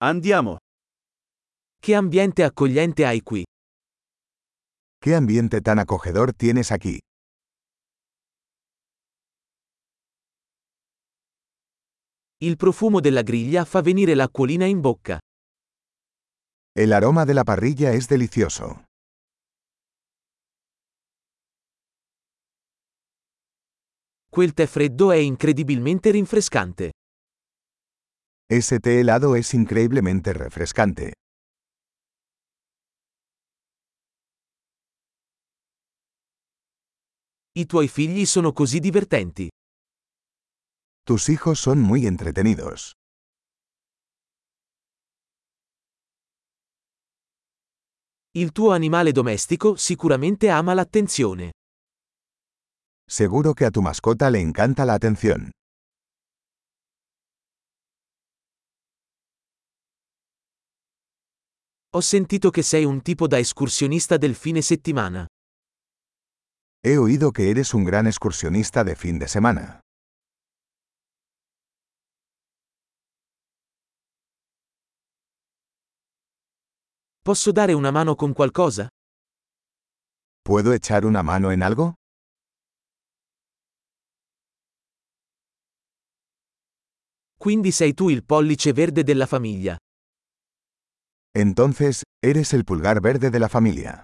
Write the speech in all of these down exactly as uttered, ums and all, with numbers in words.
Andiamo. Che ambiente accogliente hai qui. ¿Qué ambiente tan acogedor tienes aquí? Il profumo della griglia fa venire l'acquolina in bocca. El aroma de la parrilla es delicioso. Quel tè freddo è incredibilmente rinfrescante. Ese té helado es increíblemente refrescante. I tuoi figli sono così divertenti. Tus hijos son muy entretenidos. Il tuo animale domestico sicuramente ama l'attenzione. Seguro que a tu mascota le encanta la atención. Ho sentito che sei un tipo da escursionista del fine settimana. He oído que eres un gran excursionista de fin de semana. Posso dare una mano con qualcosa? ¿Puedo echar una mano en algo? Quindi sei tu il pollice verde della famiglia. Entonces, eres el pulgar verde de la familia.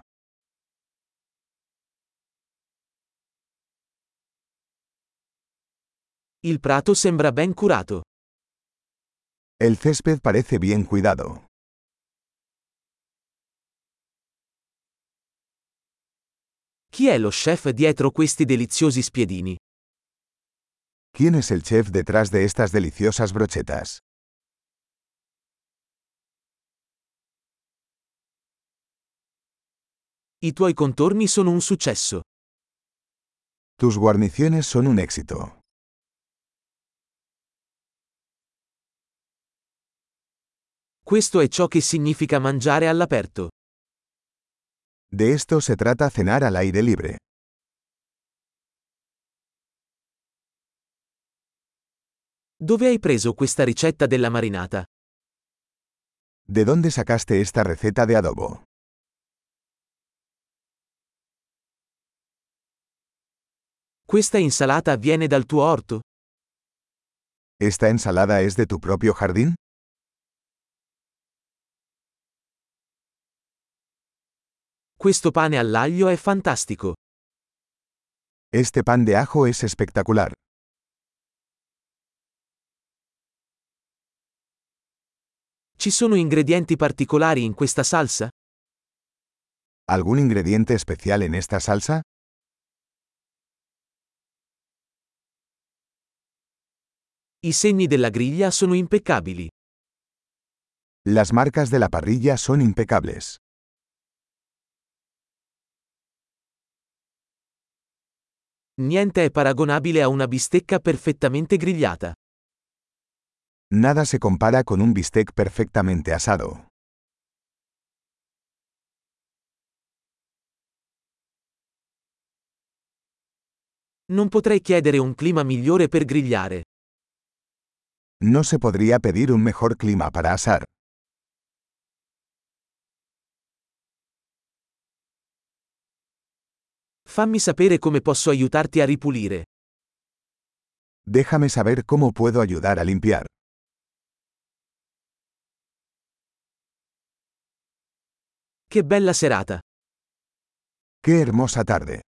Il prato sembra ben curato. El césped parece bien cuidado. Chi è lo chef dietro questi deliziosi spiedini? ¿Quién es el chef detrás de estas deliciosas brochetas? I tuoi contorni sono un successo. Tus guarniciones son un éxito. Questo è ciò che significa mangiare all'aperto. De esto se trata cenar al aire libre. Dove hai preso questa ricetta della marinata? ¿De dónde sacaste esta receta de adobo? Questa insalata viene dal tuo orto? ¿Esta ensalada es de tu propio jardín? Questo pane all'aglio è fantastico. Este pan de ajo es espectacular. Ci sono ingredienti particolari in questa salsa? ¿Algún ingrediente especial en esta salsa? I segni della griglia sono impeccabili. Las marcas de la parrilla son impecables. Niente è paragonabile a una bistecca perfettamente grigliata. Nada se compara con un bistec perfectamente asado. Non potrei chiedere un clima migliore per grigliare. No se podría pedir un mejor clima para asar. Fammi sapere come posso aiutarti a ripulire. Déjame saber cómo puedo ayudar a limpiar. Che bella serata! ¡Qué hermosa tarde!